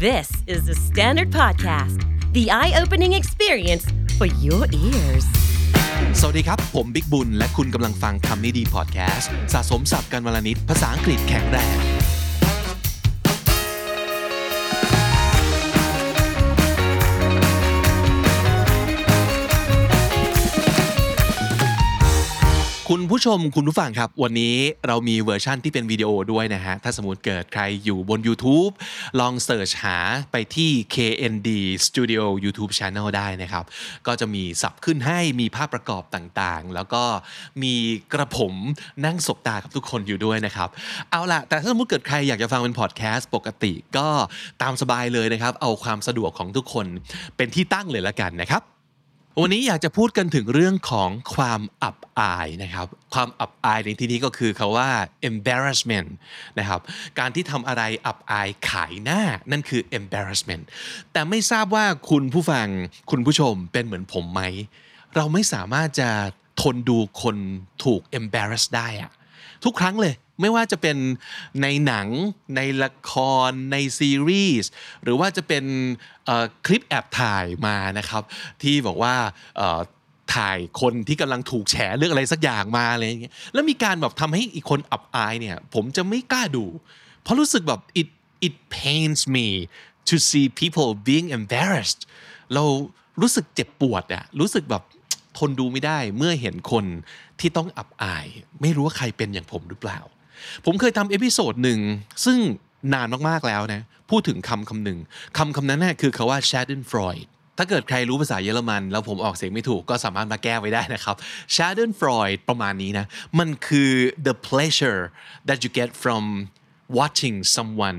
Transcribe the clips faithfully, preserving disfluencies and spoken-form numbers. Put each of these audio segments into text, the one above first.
This is the Standard Podcast, the eye-opening experience for your ears. สวัสดีครับผมบิ๊กบุญและคุณกำลังฟังคำนี้ดีพอดแคสต์สะสมศัพท์กันวลนิดภาษาอังกฤษแข็งแรงคุณผู้ชมคุณผู้ฟังครับวันนี้เรามีเวอร์ชั่นที่เป็นวิดีโอด้วยนะฮะถ้าสมมุติเกิดใครอยู่บน YouTube ลองเสิร์ชหาไปที่ เค เอ็น ดี Studio YouTube Channel ได้นะครับก็จะมีสับขึ้นให้มีภาพประกอบต่างๆแล้วก็มีกระผมนั่งสบตากับทุกคนอยู่ด้วยนะครับเอาล่ะแต่ถ้าสมมุติเกิดใครอยากจะฟังเป็นพอดแคสต์ปกติก็ตามสบายเลยนะครับเอาความสะดวกของทุกคนเป็นที่ตั้งเลยละกันนะครับวันนี้อยากจะพูดกันถึงเรื่องของความอับอายนะครับความอับอายในที่นี้ก็คือคำว่า embarrassment นะครับการที่ทำอะไรอับอายขายหน้านั่นคือ embarrassment แต่ไม่ทราบว่าคุณผู้ฟังคุณผู้ชมเป็นเหมือนผมไหมเราไม่สามารถจะทนดูคนถูก embarrass ได้อะทุกครั้งเลยไม่ว่าจะเป็นในหนังในละครในซีรีส์หรือว่าจะเป็นคลิปแอบถ่ายมานะครับที่บอกว่าถ่ายคนที่กำลังถูกแฉเรื่องอะไรสักอย่างมาอะไรอย่างเงี้ยแล้วมีการแบบทำให้อีกคนอับอายเนี่ยผมจะไม่กล้าดูเพราะรู้สึกแบบ it it pains me to see people being embarrassed เรารู้สึกเจ็บปวดอะรู้สึกแบบทนดูไม่ได้เมื่อเห็นคนที่ต้องอับอายไม่รู้ว่าใครเป็นอย่างผมหรือเปล่าผมเคยทำเอพิโซดหนึ่งซึ่งนานมากๆแล้วนะพูดถึงคำคำหนึ่งคำคำนั้นน่ะคือคำว่า Schadenfreude ถ้าเกิดใครรู้ภาษาเยอรมันแล้วผมออกเสียงไม่ถูกก็สามารถมาแก้ไว้ได้นะครับ Schadenfreude ประมาณนี้นะมันคือ the pleasure that you get from watching someone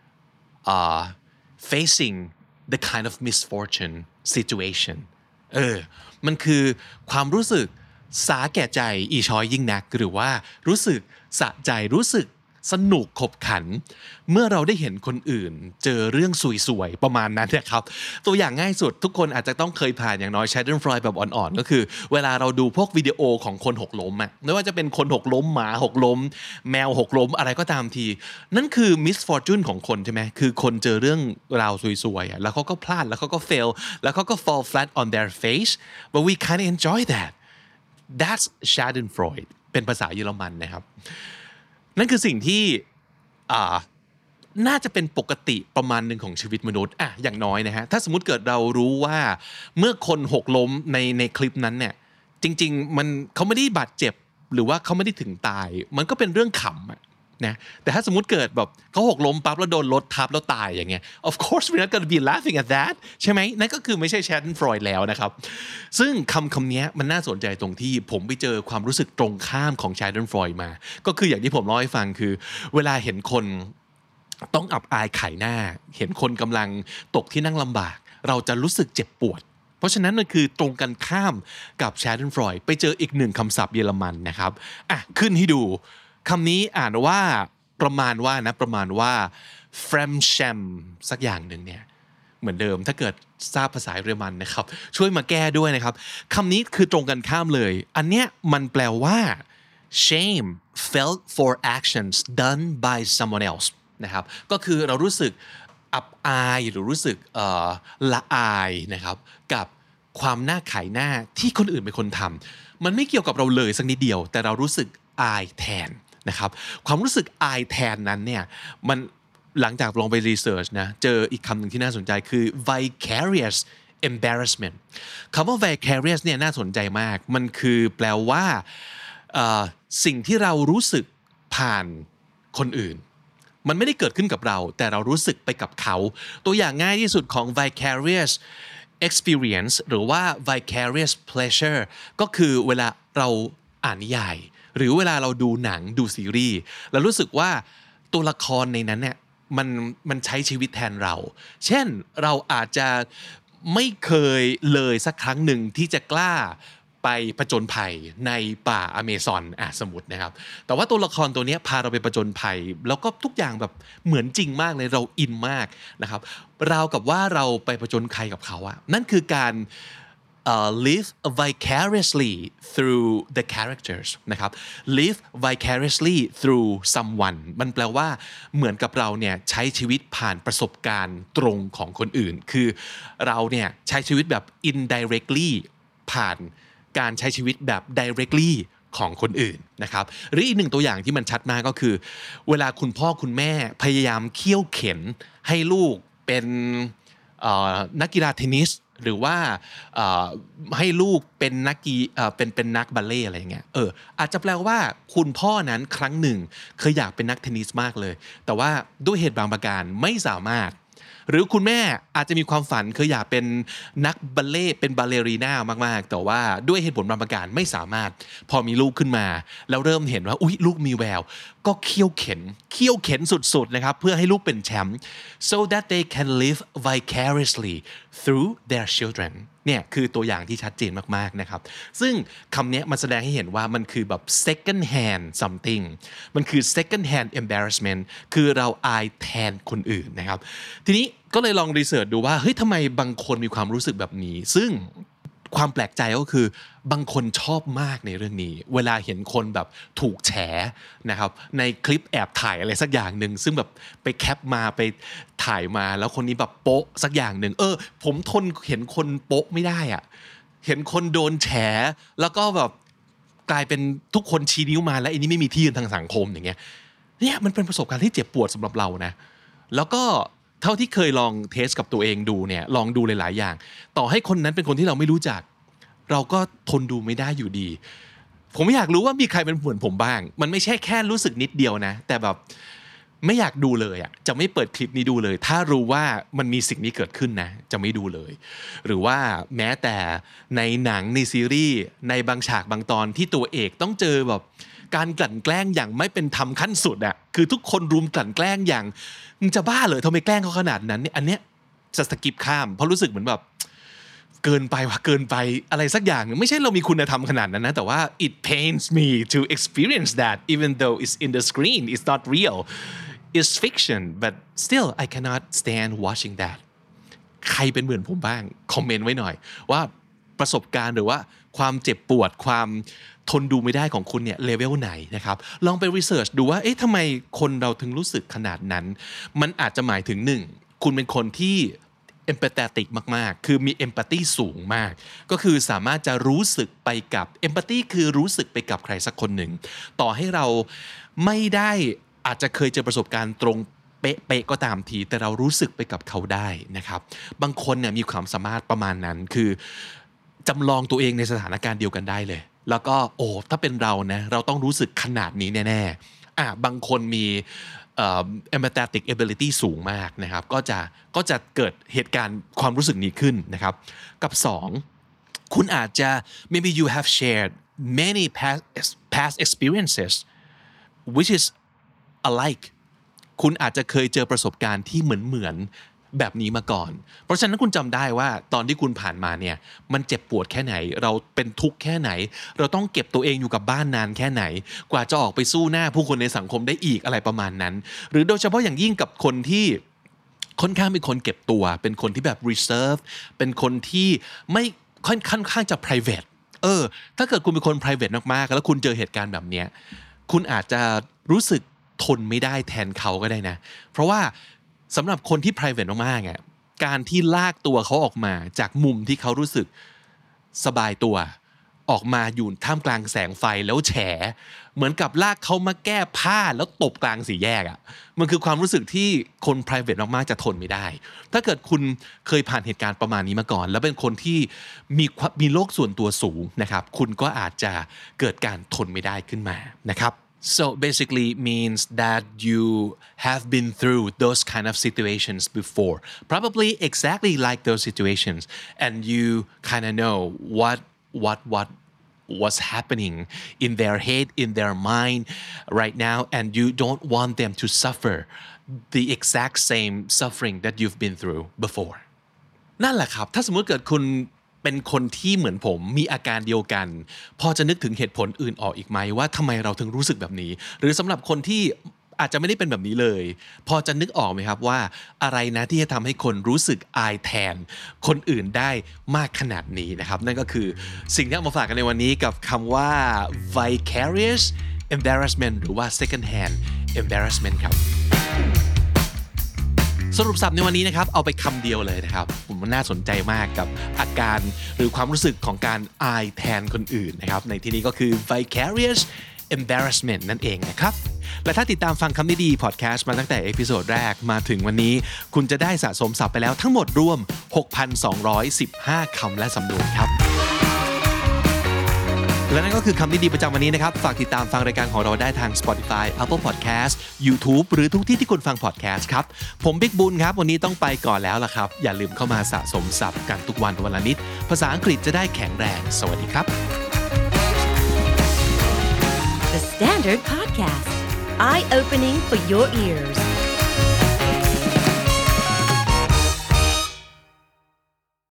uh, facing the kind of misfortune situation เออมันคือความรู้สึกสาแก่ใจอีช้อยยิ่งนักหรือว่ารู้สึกสะใจรู้สึกสนุกขบขันเมื่อเราได้เห็นคนอื่นเจอเรื่องสวยๆประมาณนั้นนะครับตัวอย่างง่ายสุดทุกคนอาจจะต้องเคยผ่านอย่างน้อย Schadenfreude แบบอ่อนๆก็คือเวลาเราดูพวกวิดีโอของคนหกล้มอ่ะไม่ว่าจะเป็นคนหกล้มหมาหกล้มแมวหกล้มอะไรก็ตามทีนั่นคือ misfortune ของคนใช่ไหมคือคนเจอเรื่องราวสวยๆอ่ะแล้วเขาก็พลาดแล้วเขาก็ fail แล้วเขาก็ fall flat on their face but we kind of enjoy that that's Schadenfreude เป็นภาษาเยอรมันนะครับนั่นคือสิ่งที่อ่าน่าจะเป็นปกติประมาณหนึ่งของชีวิตมนุษย์อ่ะอย่างน้อยนะฮะถ้าสมมุติเกิดเรารู้ว่าเมื่อคนหกล้มในในคลิปนั้นเนี่ยจริงๆมันเขาไม่ได้บาดเจ็บหรือว่าเขาไม่ได้ถึงตายมันก็เป็นเรื่องขำอ่ะนะแต่ถ้าสมมุติเกิดแบบเขาหกล้มปั๊บแล้วโดนรถทับแล้วตายอย่างเงี้ย of course we're not gonna be laughing at that ใช่ไหมนั่นก็คือไม่ใช่ Schadenfreude แล้วนะครับซึ่งคำคำนี้มันน่าสนใจตรงที่ผมไปเจอความรู้สึกตรงข้ามของ Schadenfreude มาก็คืออย่างที่ผมเล่าให้ฟังคือเวลาเห็นคนต้องอับอายขายหน้าเห็นคนกำลังตกที่นั่งลำบากเราจะรู้สึกเจ็บปวดเพราะฉะนั้นมันคือตรงกันข้ามกับ Schadenfreude ไปเจออีกหนึ่งคำศัพท์เยอรมันนะครับอ่ะขึ้นให้ดูคำนี้อ่านว่าประมาณว่านะประมาณว่า Fremdscham สักอย่างหนึ่งเนี่ยเหมือนเดิมถ้าเกิดทราบภาษาเยอรมันนะครับช่วยมาแก้ด้วยนะครับคำนี้คือตรงกันข้ามเลยอันเนี้ยมันแปลว่า shame felt for actions done by someone else นะครับก็คือเรารู้สึกอับอายหรือรู้สึกเอ่อละอายนะครับกับความน่าขายหน้าที่คนอื่นเป็นคนทำมันไม่เกี่ยวกับเราเลยสักนิดเดียวแต่เรารู้สึกอายแทนนะครับความรู้สึกอายแทนนั้นเนี่ยมันหลังจากลองไปรีเสิร์ชนะเจออีกคำหนึ่งที่น่าสนใจคือ vicarious embarrassment คำว่า vicarious เนี่ยน่าสนใจมากมันคือแปลว่าสิ่งที่เรารู้สึกผ่านคนอื่นมันไม่ได้เกิดขึ้นกับเราแต่เรารู้สึกไปกับเขาตัวอย่างง่ายที่สุดของ vicarious experience หรือว่า vicarious pleasure ก็คือเวลาเราอ่านนิยายหรือเวลาเราดูหนังดูซีรีส์เรารู้สึกว่าตัวละครในนั้นเนี่ยมันมันใช้ชีวิตแทนเราเช่นเราอาจจะไม่เคยเลยสักครั้งหนึ่งที่จะกล้าไปผจญภัยในป่าอเมซอนอ่ะสมมุตินะครับแต่ว่าตัวละครตัวนี้พาเราไปผจญภัยแล้วก็ทุกอย่างแบบเหมือนจริงมากเลยเราอินมากนะครับราวกับว่าเราไปผจญภัยกับเขาอะนั่นคือการ uh, live vicariously through the characters นะครับ live vicariously through someone มันแปลว่าเหมือนกับเราเนี่ยใช้ชีวิตผ่านประสบการณ์ตรงของคนอื่นคือเราเนี่ยใช้ชีวิตแบบ indirectly ผ่านการใช้ชีวิตแบบ directly ของคนอื่นนะครับหรืออีกหนึ่งตัวอย่างที่มันชัดมากก็คือเวลาคุณพ่อคุณแม่พยายามเคี่ยวเข็นให้ลูกเป็นนักกีฬาเทนนิสหรือว่าให้ลูกเป็นนักกีเป็นเป็นนักบัลเล่อะไรอย่างเงี้ยเอออาจจะแปลว่าคุณพ่อนั้นครั้งหนึ่งเคยอยากเป็นนักเทนนิสมากเลยแต่ว่าด้วยเหตุบางประการไม่สามารถหรือคุณแม่อาจจะมีความฝันเคยอยากเป็นนักบัลเล่เป็นบัลเลรีน่ามากๆแต่ว่าด้วยเหตุผลบางประการไม่สามารถพอมีลูกขึ้นมาแล้วเริ่มเห็นว่าอุ๊ยลูกมีแววก็เคี่ยวเข็นเคี่ยวเข็นสุดๆนะครับเพื่อให้ลูกเป็นแชมป์ so that they can live vicariously through their children เนี่ยคือตัวอย่างที่ชัดเจนมากๆนะครับซึ่งคำนี้มันแสดงให้เห็นว่ามันคือแบบ second hand something มันคือ second hand embarrassment คือเราอายแทนคนอื่นนะครับทีนี้ก็เลยลองรีเสิร์ชดูว่าเฮ้ยทำไมบางคนมีความรู้สึกแบบนี้ซึ่งความแปลกใจก็คือบางคนชอบมากในเรื่องนี้เวลาเห็นคนแบบถูกแฉนะครับในคลิปแอบถ่ายอะไรสักอย่างหนึ่งซึ่งแบบไปแคปมาไปถ่ายมาแล้วคนนี้แบบโป๊ะสักอย่างหนึ่งเออผมทนเห็นคนโป๊ะไม่ได้อะเห็นคนโดนแฉแล้วก็แบบกลายเป็นทุกคนชี้นิ้วมาแล้วอันนี้ไม่มีที่ยืนทางสังคมอย่างเงี้ยเนี่ยมันเป็นประสบการณ์ที่เจ็บปวดสำหรับเรานะแล้วก็เท่าที่เคยลองเทสกับตัวเองดูเนี่ยลองดูหลายๆอย่างต่อให้คนนั้นเป็นคนที่เราไม่รู้จักเราก็ทนดูไม่ได้อยู่ดีผมอยากรู้ว่ามีใครเป็นเหมือนผมบ้างมันไม่ใช่แค่รู้สึกนิดเดียวนะแต่แบบไม่อยากดูเลยอ่ะจะไม่เปิดคลิปนี้ดูเลยถ้ารู้ว่ามันมีสิ่งนี้เกิดขึ้นนะจะไม่ดูเลยหรือว่าแม้แต่ในหนังในซีรีส์ในบางฉากบางตอนที่ตัวเอกต้องเจอแบบการกลั่นแกล้งอย่างไม่เป็นธรรมขั้นสุดอ่ะคือทุกคนรุมกลั่นแกล้งอย่างมึงจะบ้าเหรอทำไมแกล้งเขาขนาดนั้นเนี่ยอันเนี้ยจะสกิปข้ามเพราะรู้สึกเหมือนแบบเกินไปว่ะเกินไปอะไรสักอย่างไม่ใช่เรามีคุณธรรมขนาดนั้นนะแต่ว่า it pains me to experience that even though it's in the screen it's not real it's fiction but still I cannot stand watching that ใครเป็นเหมือนผมบ้างคอมเมนต์ไว้หน่อยว่าประสบการณ์หรือว่าความเจ็บปวดความทนดูไม่ได้ของคุณเนี่ยเลเวลไหนนะครับลองไปรีเสิร์ชดูว่าเอ๊ะทำไมคนเราถึงรู้สึกขนาดนั้นมันอาจจะหมายถึงหนึ่งคุณเป็นคนที่empathetic มากๆคือมี empathy สูงมากก็คือสามารถจะรู้สึกไปกับ empathy คือรู้สึกไปกับใครสักคนหนึ่งต่อให้เราไม่ได้อาจจะเคยเจอประสบการณ์ตรงเป๊ะๆก็ตามทีแต่เรารู้สึกไปกับเขาได้นะครับบางคนเนี่ยมีความสามารถประมาณนั้นคือจำลองตัวเองในสถานการณ์เดียวกันได้เลยแล้วก็โอ้ถ้าเป็นเรานะเราต้องรู้สึกขนาดนี้แน่ๆอ่ะบางคนมีเอ่อ empathetic ability สูงมากนะครับก็จะก็จะเกิดเหตุการณ์ความรู้สึกนี้ขึ้นนะครับกับสองคุณอาจจะ maybe you have shared many past past experiences which is alike คุณอาจจะเคยเจอประสบการณ์ที่เหมือนเหมือนแบบนี้มาก่อนเพราะฉะนั้นคุณจำได้ว่าตอนที่คุณผ่านมาเนี่ยมันเจ็บปวดแค่ไหนเราเป็นทุกข์แค่ไหนเราต้องเก็บตัวเองอยู่กับบ้านนานแค่ไหนกว่าจะออกไปสู้หน้าผู้คนในสังคมได้อีกอะไรประมาณนั้นหรือโดยเฉพาะอย่างยิ่งกับคนที่ค่อนข้างเป็นคนเก็บตัวเป็นคนที่แบบ reserve เป็นคนที่ไม่ค่อนข้างจะ private เออถ้าเกิดคุณเป็นคน private มากๆแล้วคุณเจอเหตุการณ์แบบเนี้ยคุณอาจจะรู้สึกทนไม่ได้แทนเขาก็ได้นะเพราะว่าสำหรับคนที่ private มากๆอ่ะการที่ลากตัวเขาออกมาจากมุมที่เขารู้สึกสบายตัวออกมาอยู่ท่ามกลางแสงไฟแล้วแฉเหมือนกับลากเขามาแก้ผ้าแล้วตบกลางสี่แยกอ่ะมันคือความรู้สึกที่คน private มากๆจะทนไม่ได้ถ้าเกิดคุณเคยผ่านเหตุการณ์ประมาณนี้มาก่อนแล้วเป็นคนที่มีมีโลกส่วนตัวสูงนะครับคุณก็อาจจะเกิดการทนไม่ได้ขึ้นมานะครับSo basically means that you have been through those kind of situations before, probably exactly like those situations, and you kind of know what what what what's happening in their head, in their mind right now, and you don't want them to suffer the exact same suffering that you've been through before. นั่นแหละครับถ้าสมมติเกิดคุณเป็นคนที่เหมือนผมมีอาการเดียวกันพอจะนึกถึงเหตุผลอื่นออกอีกไหมว่าทำไมเราถึงรู้สึกแบบนี้หรือสำหรับคนที่อาจจะไม่ได้เป็นแบบนี้เลยพอจะนึกออกไหมครับว่าอะไรนะที่จะทำให้คนรู้สึกอายแทนคนอื่นได้มากขนาดนี้นะครับนั่นก็คือสิ่งที่เอามาฝากกันในวันนี้กับคำว่า vicarious embarrassment หรือว่า second hand embarrassment ครับสรุปศัพท์ในวันนี้นะครับเอาไปคำเดียวเลยนะครับผมว่าน่าสนใจมากกับอาการหรือความรู้สึกของการอายแทนคนอื่นนะครับในที่นี้ก็คือ vicarious embarrassment นั่นเองนะครับและถ้าติดตามฟังคำนี้ดีพอดแคสต์มาตั้งแต่เอพิโซดแรกมาถึงวันนี้คุณจะได้สะสมศัพท์ไปแล้วทั้งหมดรวม หกพันสองร้อยสิบห้า คำและสำนวนครับและนั่นก็คือคำนี้ดีประจำวันนี้นะครับฝากติดตามฟังรายการของเราได้ทาง Spotify Apple Podcast YouTube หรือทุกที่ที่คุณฟัง podcast ครับผมบิ๊กบุญครับวันนี้ต้องไปก่อนแล้วล่ะครับอย่าลืมเข้ามาสะสมศัพท์กันทุกวันวันละนิดภาษาอังกฤษจะได้แข็งแรงสวัสดีครับ The Standard Podcast Eye Opening for Your Ears